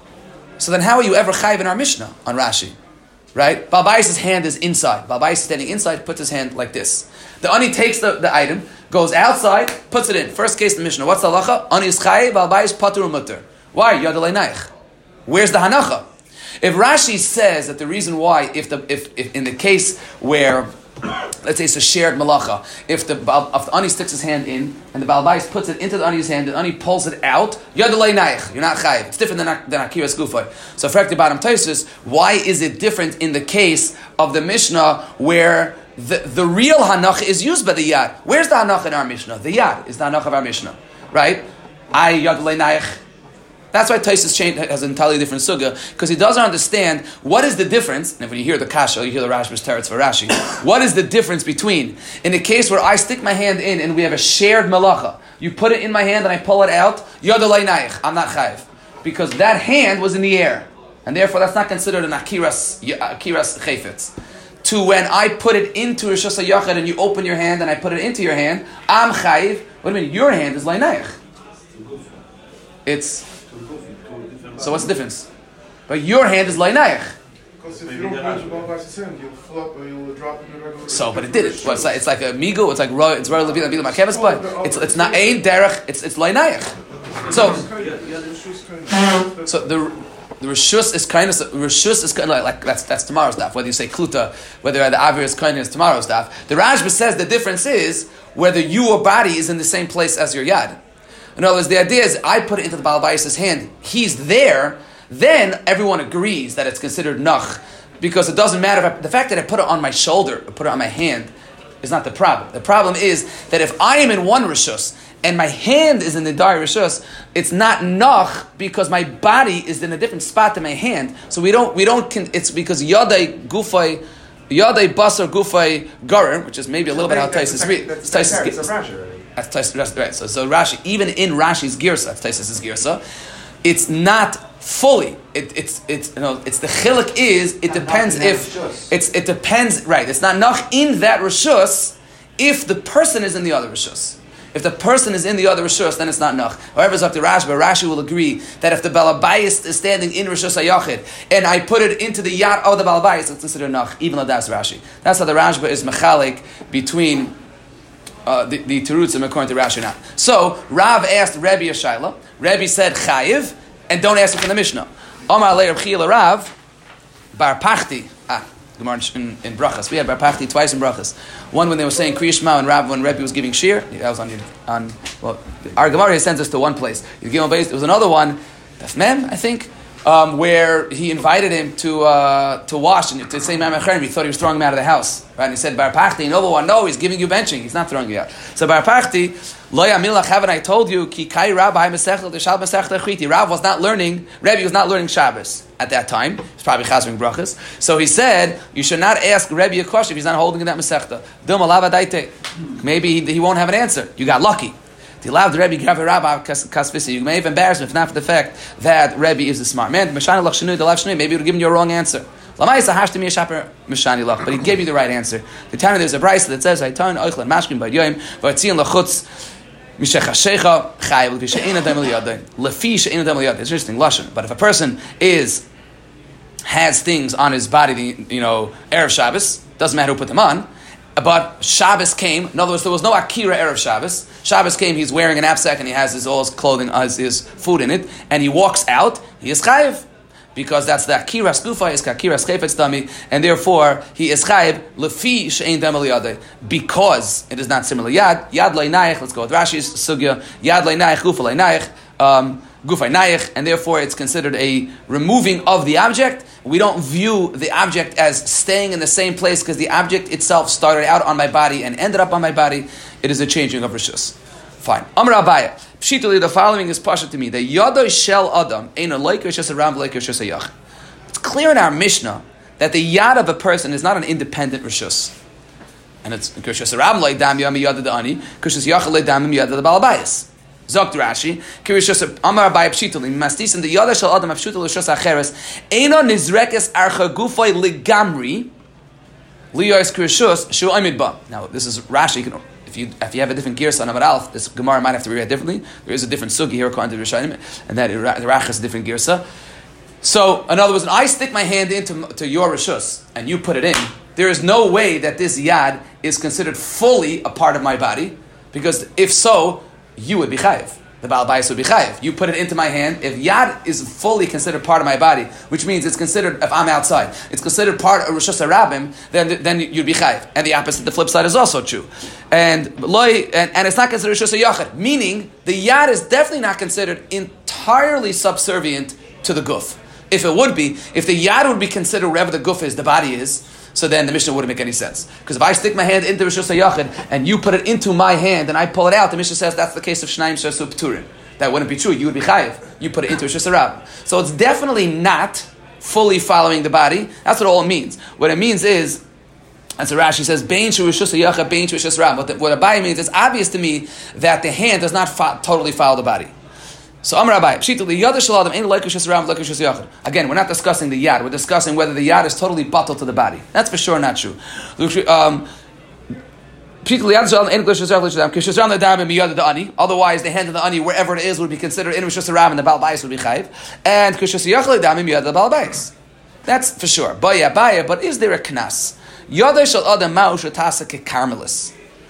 So then, how are you ever chayiv in our Mishnah on Rashi? Right? Baal Bayis' hand is inside. Baal Bayis is standing inside, puts his hand like this. The ani takes the, the item, goes outside, puts it in. First case in the Mishnah. What's the halacha? Ani is chayiv, Baal Bayis patur mutter. Why? Yadalei naich. Where's the hanacha? If Rashi says that the reason why, if the if, if in the case where, let's say it's a shared malacha, if the if the ani sticks his hand in and the Baal Bayis puts it into the ani's hand, the ani pulls it out, yadalei naich, you're not chayiv. It's different than than akiras gufay. So frekti bottom taisus, why is it different in the case of the Mishnah where the the real hanacha is used by the yad? Where's the hanacha in our Mishnah? The yad is the hanacha of our Mishnah, right? I yadalei naich. That's why Taisus has an entirely different sugya, because he doesn't understand what is the difference, and when you hear the kasha, you hear the Rashba's teretz for Rashi, what is the difference between, in a case where I stick my hand in and we have a shared malacha, you put it in my hand and I pull it out, yadalei naich, I'm not chayiv, because that hand was in the air, and therefore that's not considered an akiras, akiras chayfetz. to when I put it into Rishus HaYachid and you open your hand and I put it into your hand, I'm chayiv. What do you mean? Your hand is lainayich. It's so what's the difference? But your hand is lainayich. Because if you don't use your Baal Bai's hand, you'll flop or you'll drop in the regular. So, but it did it. Well, it's like it's like a migu. It's like roy. It's roy levila bila makeves, but it's it's not ein derech. It's it's lainayich. So, so the the rishus is kind of rishus is kind of like, like that's that's tomorrow's daf. Whether you say kluta, whether the avir is kind is tomorrow's daf. The Rashba says the difference is whether your body is in the same place as your yad. In other words, the idea is I put it into the Baal Bais' hand. He's there. Then everyone agrees that it's considered nach, because it doesn't matter if I, the fact that I put it on my shoulder or put it on my hand is not the problem. The problem is that if I am in one rishus and my hand is in the dar rishus, it's not nach because my body is in a different spot than my hand. So we don't we don't. It's because yadai gufay. Yadai basar gufay garer, which is maybe a little bit how Taisus read. That's Rashi. That's Taisus, right? So, so Rashi, even in Rashi's girsa, that's Taisus' girsa, it's not fully. It, it's it's you know it's the chiluk is it depends if it's it depends right. It's not nach in that rishus if the person is in the other rishus. If the person is in the other rishus, then it's not nach. However, it's up to Rashi, but Rashi will agree that if the balabayis is standing in rishus hayachid and I put it into the yad of the balabayis, it's considered nach, even though that's Rashi. That's how the Rashba is mechalik between uh, the the terutzim according to Rashi now. So Rav asked Rebbe a shaila. Rebbe said chayiv, and don't ask it from the Mishnah. Omar le Reb Chila Rav bar pachti. Ah. Gemara in, in Brachas. We had Bar Pachti twice in Brachas. One when they were saying Kriya Shema and Rav when Rebbe was giving Shir. That was on your, on well our Gemara sends us to one place. You give him base. There was another one, Daf Mem, I think, um, where he invited him to uh, to wash and to say Mem Acherem. He thought he was throwing him out of the house. Right? And he said Bar Pachti, another one, no, he's giving you benching. He's not throwing you out. So Bar Pachti, Lo Yamilach, haven't I told you, Ki Kai Rabbi Mesechel Deshal Mesechel Echiti. Rav was not learning, Rebbe was not learning Shabbos at that time. He's probably chazering brachas. So he said, you should not ask Rebbe a question if he's not holding in that Mesechta. Dum alava daite. Maybe he, he won't have an answer. You got lucky. The allowed the Rebbe grab a rabbi kasvisi. You may have embarrassed him if not for the fact that Rebbe is a smart man. Meshani lach shenu, the lach shenu. Maybe he would have given you a wrong answer. Lamaisa hashtem yeshaper meshani lach. But he gave you the right answer. The time there's a brayso that says, "Haytan oichlan mashkin b'ad yoyim v'atzion lachutz." It's interesting, lashon. But if a person is has things on his body, you know, erev Shabbos, doesn't matter who put them on. But Shabbos came. In other words, there was no akira erev Shabbos. Shabbos came. He's wearing an knapsack and he has his all his clothing, his, his food in it, and he walks out. He is chayiv. Because that's the akira skufa is akira skefetz dami, and therefore he is chayiv lefi she'ein dam eliyadei, because it is not similar. Yad yad leinayich. Let's go with Rashi's sugya. Yad leinayich gufa leinayich um, gufa leinayich, and therefore it's considered a removing of the object. We don't view the object as staying in the same place because the object itself started out on my body and ended up on my body. It is a changing of rishus. Fine. Amar Abaya. Pshituli, the following is pasha to me. The yadoi shel adam ain't a like just a ram like just a yach. It's clear in our Mishnah that the yad of a person is not an independent rishus, and it's because a ram like dam yam yad the ani, because yach like dam yad the balabayis. Zokt Rashi, kirishus Amar Abaya pshituli mastis in the yadoi shel adam pshituli rishus acheres eino nizrekes archa gufay ligamri liyos kirishus shu amid ba. Now this is Rashi. You can. If you if you have a different gear on Amar Alf, this Gemara might have to be read differently. There is a different sugi here according to the Rishonim, and that the Rach is a different girsa. So, in other words, when I stick my hand into to your rishus and you put it in, there is no way that this yad is considered fully a part of my body, because if so, you would be chayiv. The Baal Bayis would be chayiv. You put it into my hand. If yad is fully considered part of my body, which means it's considered, if I'm outside, it's considered part of Rishus HaRabim, then then you'd be chayiv. And the opposite, the flip side is also true. And loy, and, and it's not considered Rishus HaYachid, meaning the yad is definitely not considered entirely subservient to the guf. If it would be, if the yad would be considered wherever the guf is, the body is, so then the Mishnah wouldn't make any sense. Because if I stick my hand into Rishus HaYachid and you put it into my hand and I pull it out, the Mishnah says that's the case of Shnaim Shasu P'turin. That wouldn't be true. You would be chayiv. You put it into Rishus HaRabim. So it's definitely not fully following the body. That's what all it means. What it means is, as Rashi says, Bein Shu Rishus HaYachid, Bein Shu Rishus HaRabim. What Abai means, it's obvious to me that the hand does not fo- totally follow the body. So Amar Abai, Pshita li yad shel adam ein like rishus rabim like rishus yachid. Again, we're not discussing the yad. We're discussing whether the yad is totally batal to the body. That's for sure not true. Um, Otherwise, the hand of the ani, wherever it is, would be considered in Rishus Harabim, and the Baal Bayis would be chayiv. And Kishus Yachal Dami Miyad the Baal Bayis. That's for sure. Baya Baya, but is there a knas? Yada shel adam ma'u shetasa kekarmelis.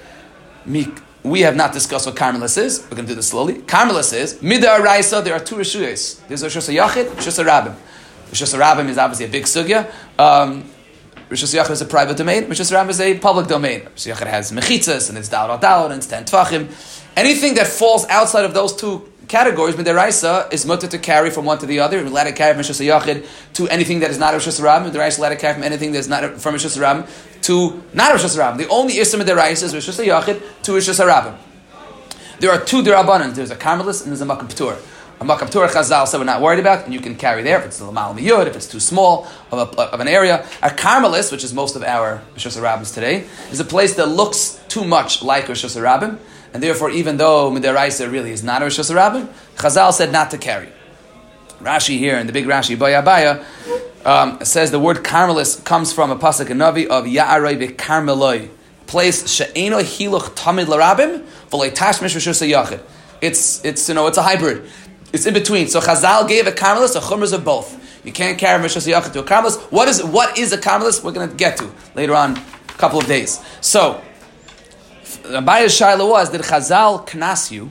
We have not discussed what karmelis is. We're going to do this slowly. Karmelis is midar raisa. There are two rishuyos. There's Rishus Yachid, Rishus Harabim. Rishus Harabim is obviously a big sugya. Um, Rishus Yachid is a private domain. Rishus Harabim is a public domain. Rishus Yachid has mechitzas, and it's da'al da'al, and it's ten tvachim. Anything that falls outside of those two categories, midaraisa, is mutter to carry from one to the other. We're allowed to carry from Rishus Yachid to anything that is not Rishus Harabim. Midaraisa is allowed to carry from anything that is not from Rishus Harabim to not Rishus Harabim. The only issue midaraisa is Rishus Yachid to Rishus Harabim. There are two derabanan. There's a karmelis and there's a makam p'tur. A makam p'tur chazal said we're not worried about, and you can carry there if it's the lamal miyud, if it's too small of, a, of an area. A karmelis, which is most of our Rishus Harabim today, is a place that looks too much like Rishus Harabim, and therefore, even though midaraisa really is not a Rishus Harabim, chazal said not to carry. Rashi here, in the big Rashi, Baya Baya, um, says the word karmelis comes from a pasuk in Navi of Ya'aroi bekarmeloi, place she'eno hiluch tamid larabim v'lei tashmish Rishus Yachid. It's it's you know it's a hybrid. It's in between. So Chazal gave a karmelis a chumras of both. You can't carry Rishus Yachid to a karmelis. What is what is a karmelis? We're going to get to later on, a couple of days. So Abaya's shaila was, did Chazal knas you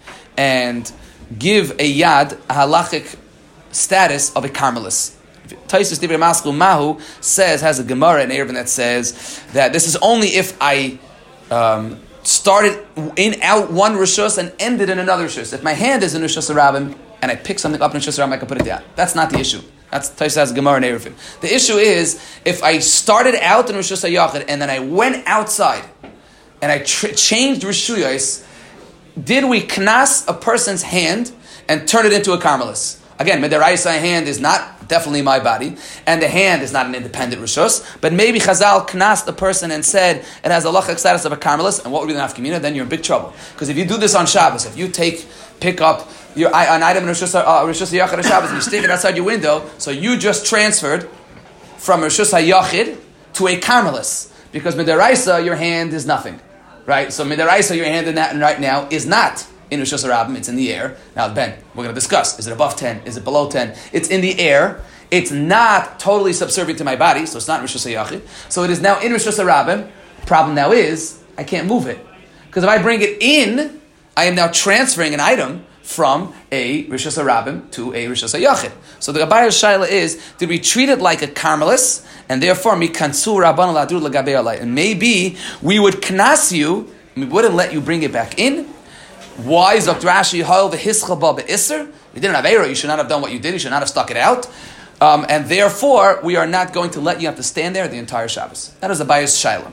and give a yad a halachic status of a karmelis? Taisus Divrei Maskul Mahu says, has a Gemara in Eruvin that says that this is only if I um, started in out one Rishus and ended in another Rishus. If my hand is in Rishus Harabim and I pick something up in Rishus Harabim, I can put it down. That's not the issue. That's Taisus has a Gemara in Eruvin. The issue is if I started out in Rishus HaYachid and then I went outside and I tr- changed Rishuyos, did we knas a person's hand and turn it into a karmelis? Again, midaraisa hand is not definitely my body, and the hand is not an independent rishus, but maybe Chazal knast the person and said it has a halachic status of a karmelis, and what would be the nafkamina? Then you're in big trouble. Because if you do this on Shabbos, if you take, pick up your, an item in Rishus uh, Yachid on Shabbos and you stick it outside your window, so you just transferred from Rishus HaYachid to a karmelis, because midaraisa, your hand is nothing, right? So midaraisa, your hand in that right now is not in Rishus Harabim, it's in the air. Now, Ben, we're going to discuss, is it above ten? Is it below ten? It's in the air. It's not totally subservient to my body, so it's not Rishus HaYachid. So it is now in Rishus Harabim. Problem now is, I can't move it. Because if I bring it in, I am now transferring an item from a Rishus Harabim to a Rishus HaYachid. So the Abaya's shaila is, did we treat it like a karmelis, and therefore, mi kansu rabban ladur l'gabei alai. And maybe we would knas you, we wouldn't let you bring it back in. Why is Doctor Rashi hol the hischaba be'isr? You didn't have error. You should not have done what you did. You should not have stuck it out. Um, and therefore, we are not going to let you have to stand there the entire Shabbos. That is a bias shaila.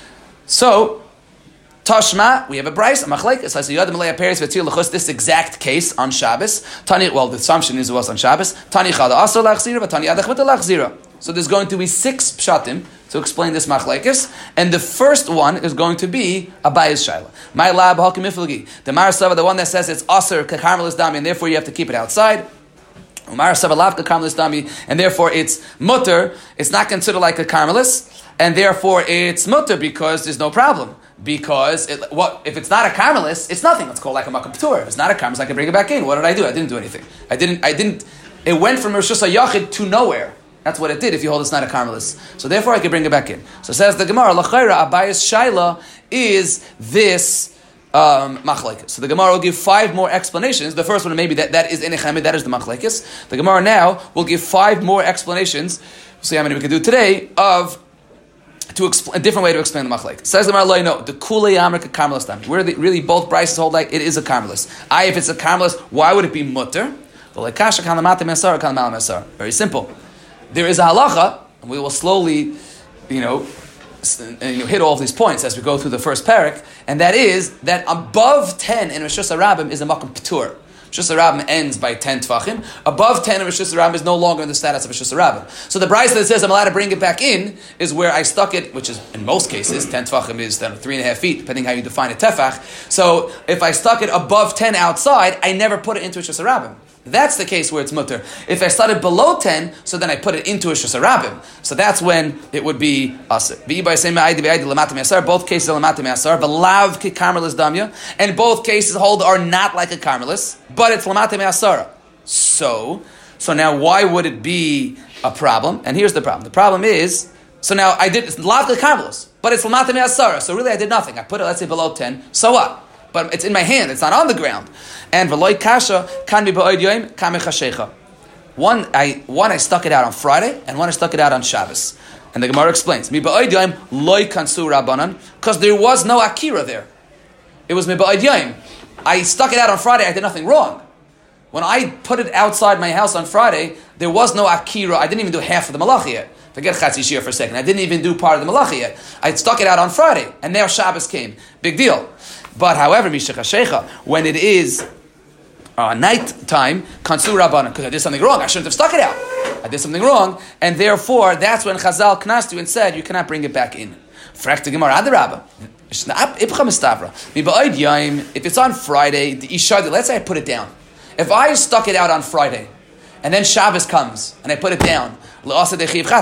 So, Tashma, we have a brayso, a machlekes. I say yad malei peres v'tzir lechus. This exact case on Shabbos. Tani, well, the assumption is it was on Shabbos. Tani chada asor lachzira, but tani adach v'ta lachzira. So there's going to be six pshatim to explain this machlekes, and the first one is going to be a bias shaila. My lab hakim ifilgi. The Marasava, the one that says it's asor kakarmelis dami, and therefore you have to keep it outside. Marasava lav kakarmelis dami, and therefore it's mutter. It's not considered like a karmelis, and therefore it's mutter because there's no problem. Because it, what if it's not a karmelis? It's nothing. It's called like a makam p'tur. If it's not a karmelis, I can bring it back in. What did I do? I didn't do anything. I didn't. I didn't. It went from Rishus HaYachid to nowhere. That's what it did if you hold it's not a karmelis. So therefore I can bring it back in. So says the Gemara, L'chayra, Abayas Shaila is this um, machlekes. So the Gemara will give five more explanations. The first one maybe that, that is Enechamid, that is the machlekes. The Gemara now will give five more explanations, we'll see how many we can do today, of to expl- a different way to explain the machlekes. Says the Gemara, no, the Kulei Amrik karmelis dam. Where the, really both Brises hold like it is a karmelis. I, if it's a karmelis, why would it be mutter? Very simple. There is a halacha, and we will slowly, you know, you know, hit all of these points as we go through the first parak, and that is that above ten in Rishus Harabim is a makam p'tur. Rosh Hashanah ends by ten Tvachim. Above ten, Rosh Hashanah is no longer in the status of Rosh Hashanah. So the Brisa that says I'm allowed to bring it back in is where I stuck it, which is in most cases, ten Tvachim is then three and a half feet, depending how you define a tefach. So if I stuck it above ten outside, I never put it into Rosh Hashanah. That's the case where it's mutter. If I started below ten, so then I put it into a shusarabim. So that's when it would be asir. Both cases are lamata me'asar. V'lav ki karmelis damya. And both cases hold are not like a karmelis, but it's lamata me'asara. So, so now why would it be a problem? And here's the problem. The problem is, so now I did lav ki karmelis, but it's lamata me'asara. So really I did nothing. I put it, let's say, below ten. So what? But it's in my hand. It's not on the ground. And v'loy kasha kan be ba'od yoyim kamei chashecha. One I one I stuck it out on Friday, and one I stuck it out on Shabbos. And the Gemara explains mi ba'od yoyim loy kansu rabbanan, because there was no akira there. It was mi ba'od yoyim. I stuck it out on Friday. I did nothing wrong. When I put it outside my house on Friday, there was no akira. I didn't even do half of the malacha yet. Forget chatzi shir for a second. I didn't even do part of the malacha yet. I stuck it out on Friday, and now Shabbos came. Big deal. But however, mishachashecha, when it is uh, night time, kansu rabbanan, because I did something wrong, I shouldn't have stuck it out. I did something wrong, and therefore that's when Chazal knast you and said you cannot bring it back in. Frakta Gemara adarabba. If it's on Friday, the ishadi, let's say I put it down. If I stuck it out on Friday, and then Shabbos comes and I put it down, there's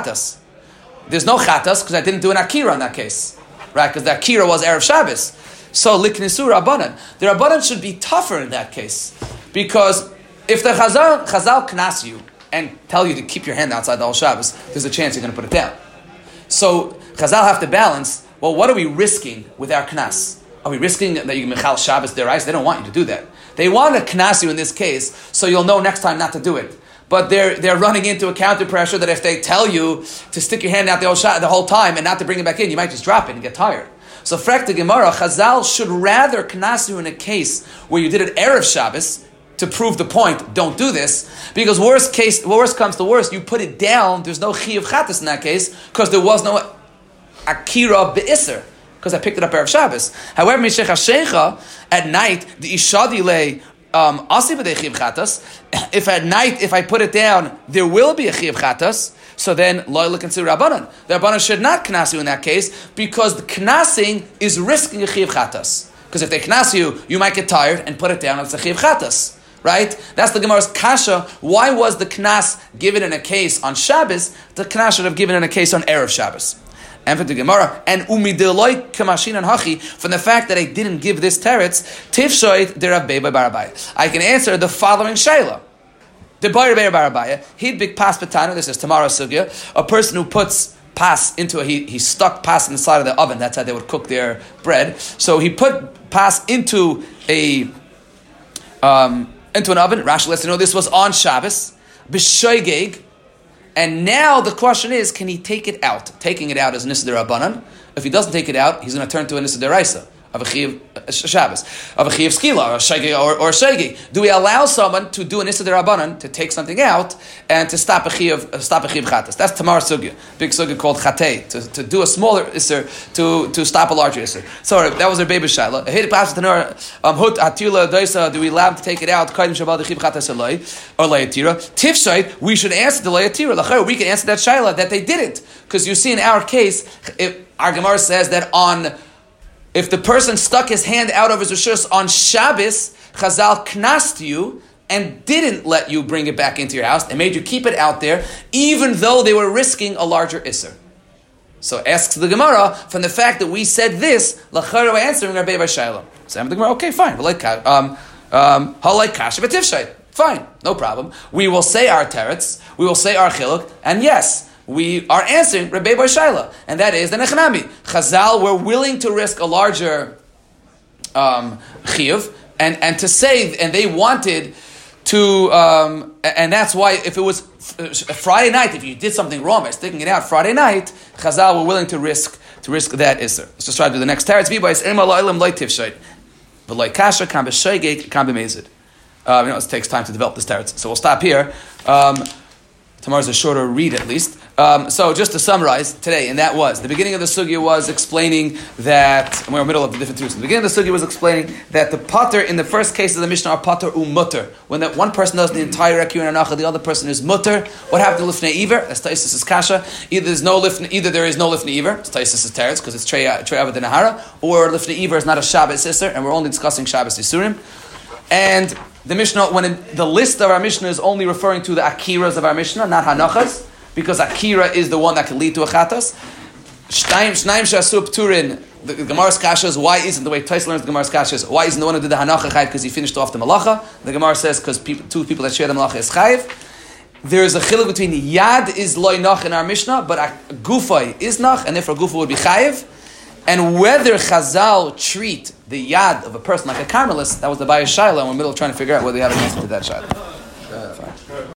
no chatas because I didn't do an akira in that case, right? Because the akira was erev Shabbos. So liknisu rabbanan, the rabbanan should be tougher in that case, because if the chazal chazal knas you and tell you to keep your hand outside the whole Shabbos, there's a chance you're going to put it down. So chazal have to balance. Well, what are we risking with our knas? Are we risking that you can mechal Shabbos derais? They don't want you to do that. They want to knas you in this case, so you'll know next time not to do it. But they're they're running into a counter pressure that if they tell you to stick your hand out the whole shot the whole time and not to bring it back in, you might just drop it and get tired. So, frekta Gemara, Chazal should rather knas you in a case where you did it erev Shabbos to prove the point. Don't do this, because worst case, worst comes to worst, you put it down. There's no chi of chatas in that case because there was no akira be'isser because I picked it up erev Shabbos. However, mishech hashecha at night the ishadi lay. Um, if at night, if I put it down, there will be a chi of chatas. So then, loyal consider rabbanan. The rabbanan should not knas you in that case because the knasing is risking a chi of chatas. Because if they knas you, you might get tired and put it down. It's a chi of chatas, right? That's the Gemara's kasha. Why was the knas given in a case on Shabbos? The knas should have given in a case on erev Shabbos. And for the Gemara, and umideloi kamashin and hachi, from the fact that I didn't give this teretz, tifshoit derabbei barabai. I can answer the following shayla. The barabai barabaya, he'd big pas patana. This is tomorrow's sugya. A person who puts pas into a he he stuck pas inside of the oven. That's how they would cook their bread. So he put pas into a um, into an oven. Rashi lets you know this was on Shabbos. B'shoigeg. And now the question is, can he take it out? Taking it out is Nisa D'Rabbanan. If he doesn't take it out, he's going to turn to a Nisa D'Oraisa of a Chiv Shabbos, of a Chiv Skila, or a Shegi, or, or a Shegi. Do we allow someone to do a Nisa D'Rabbanan, to take something out, and to stop a Chiv, uh, stop a Chiv Chatas? That's Tamar Sugya, big Sugya called Chatei, to, to do a smaller Isser, to, to stop a larger Isser. So that was their baby Shaila. Do we allow him to take it out? Or Layatira. Tifshait, we should answer the Layatira. We can answer that Shaila, that they didn't. Because you see in our case, if our Gemara says that on if the person stuck his hand out of his rishus on Shabbos, Chazal knast you and didn't let you bring it back into your house. They made you keep it out there, even though they were risking a larger isser. So asks the Gemara, from the fact that we said this, Lachar we're answering Rabbi Vashayla. So the Gemara, okay, fine. Um, um, Halai kasha v'tifshay. Fine, no problem. We will say our teretz, we will say our chiluk, and yes, we are answering Rabbi Bar Shaila, and that is the Nechanami. Chazal were willing to risk a larger um, chiyuv, and, and to say, and they wanted to, um, and that's why if it was Friday night, if you did something wrong by sticking it out Friday night, Chazal were willing to risk to risk that isser. Let's just try to do the next teretz. V'bayis ema la'ilam loy tifshay, v'loy kasha kam b'shoygeg kam b'mezid. You know, it takes time to develop this teretz, so we'll stop here. Um, Tomorrow's a shorter read, at least. Um, so just to summarize today, and that was, the beginning of the sugya was explaining that, and we're in the middle of the different truths. The beginning of the sugya was explaining that the pater in the first case of the Mishnah are pater u mutter. When that one person does the entire Akir and Anacha, the other person is mutter. What happened to Lifnei Iver? That's Taisus' Kasha. Either there's no Lifnei, either there is no Lifnei Iver, it's Taisus' Teretz, because it's Trei Avot and Nahara, or Lifnei Iver is not a Shabbos Isser, and we're only discussing Shabbos Isurim. And the Mishnah, when in, the list of our Mishnah is only referring to the Akiras of our Mishnah, not Hanachas, because Akira is the one that can lead to a Chatas. Shnaim Shasu Pturin, the Gemara's Kasha is, why isn't, the way Tais learns the Gemara's Kasha is, why isn't the one who did the Hanacha Chayiv because he finished off the Malacha? The Gemara says, because people, two people that share the Malacha is Chayiv. There is a chiluk between Yad is Loi Nach in our Mishnah, but Gufay is Nach, and therefore Gufa would be Chayiv. And whether Chazal treat the Yad of a person like a Carmelist, that was the Bayis Shaila, and we're in the middle of trying to figure out whether they have an answer to that Shaila.